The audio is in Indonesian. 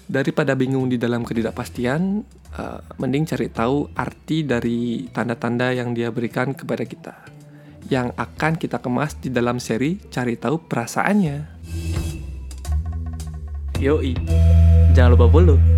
Daripada bingung di dalam ketidakpastian, mending cari tahu arti dari tanda-tanda yang dia berikan kepada kita, yang akan kita kemas di dalam seri Cari Tahu Perasaannya. Yoi, jangan lupa follow